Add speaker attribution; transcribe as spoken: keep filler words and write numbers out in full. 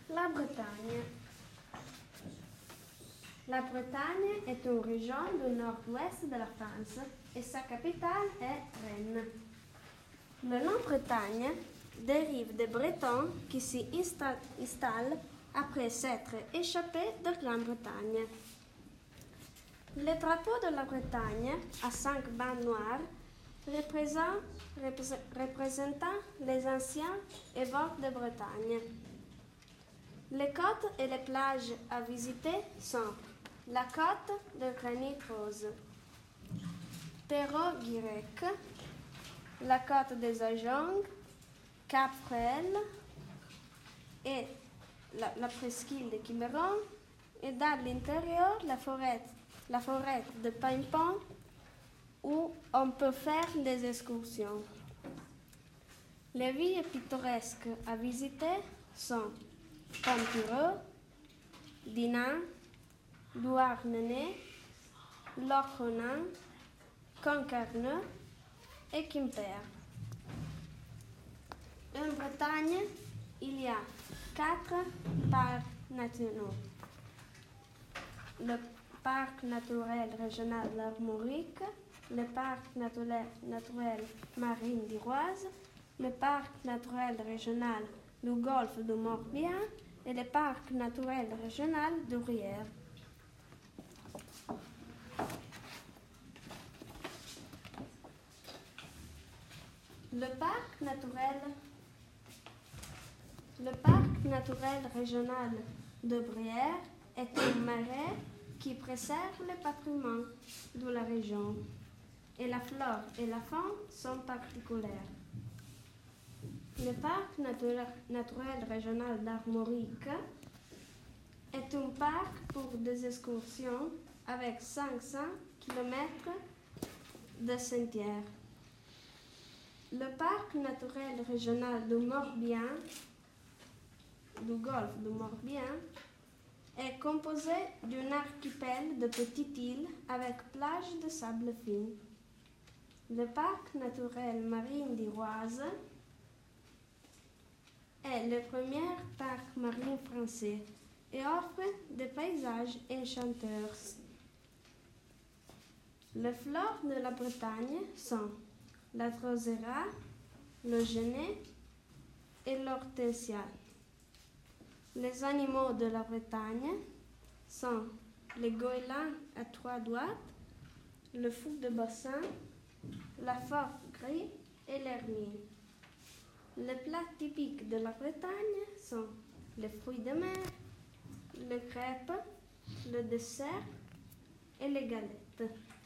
Speaker 1: La Bretagne. La Bretagne est une région du nord-ouest de la France et sa capitale est Rennes. Le nom Bretagne dérive des Bretons qui s'y installent après s'être échappés de Grande-Bretagne. Le drapeau de la Bretagne, à cinq bandes noires, représentant les anciens évêques de Bretagne. Les côtes et les plages à visiter sont la côte de granit rose, Perros-Guirec, la côte des Ajoncs, Cap Fréhel et la, la presqu'île de Quiberon, et dans l'intérieur la forêt, la forêt de Pimpon où on peut faire des excursions. Les villes pittoresques à visiter sont Ponturieu, Dinan, Douarnenez, Lochronan, Concarneau et Quimper. En Bretagne, il y a quatre parcs nationaux. Le parc naturel régional d'Armorique, le parc naturel, naturel marine d'Iroise, le parc naturel régional du golfe du Morbihan et le parc naturel régional du Gruyère. Le parc naturel, le parc naturel régional de Bruyère est un marais qui préserve le patrimoine de la région et la flore et la faune sont particulières. Le parc naturel, naturel régional d'Armorique est un parc pour des excursions avec cinq cents kilomètres de sentiers. Le parc naturel régional du Morbihan, du golfe du Morbihan, est composé d'un archipel de petites îles avec plages de sable fin. Le parc naturel marine d'Iroise est le premier parc marin français et offre des paysages enchanteurs. Les fleurs de la Bretagne sont la drosera, le genêt et l'hortensia. Les animaux de la Bretagne sont le goéland à trois doigts, le fou de bassin, la phoque gris et l'hermine. Les plats typiques de la Bretagne sont les fruits de mer, les crêpes, le dessert et les galettes.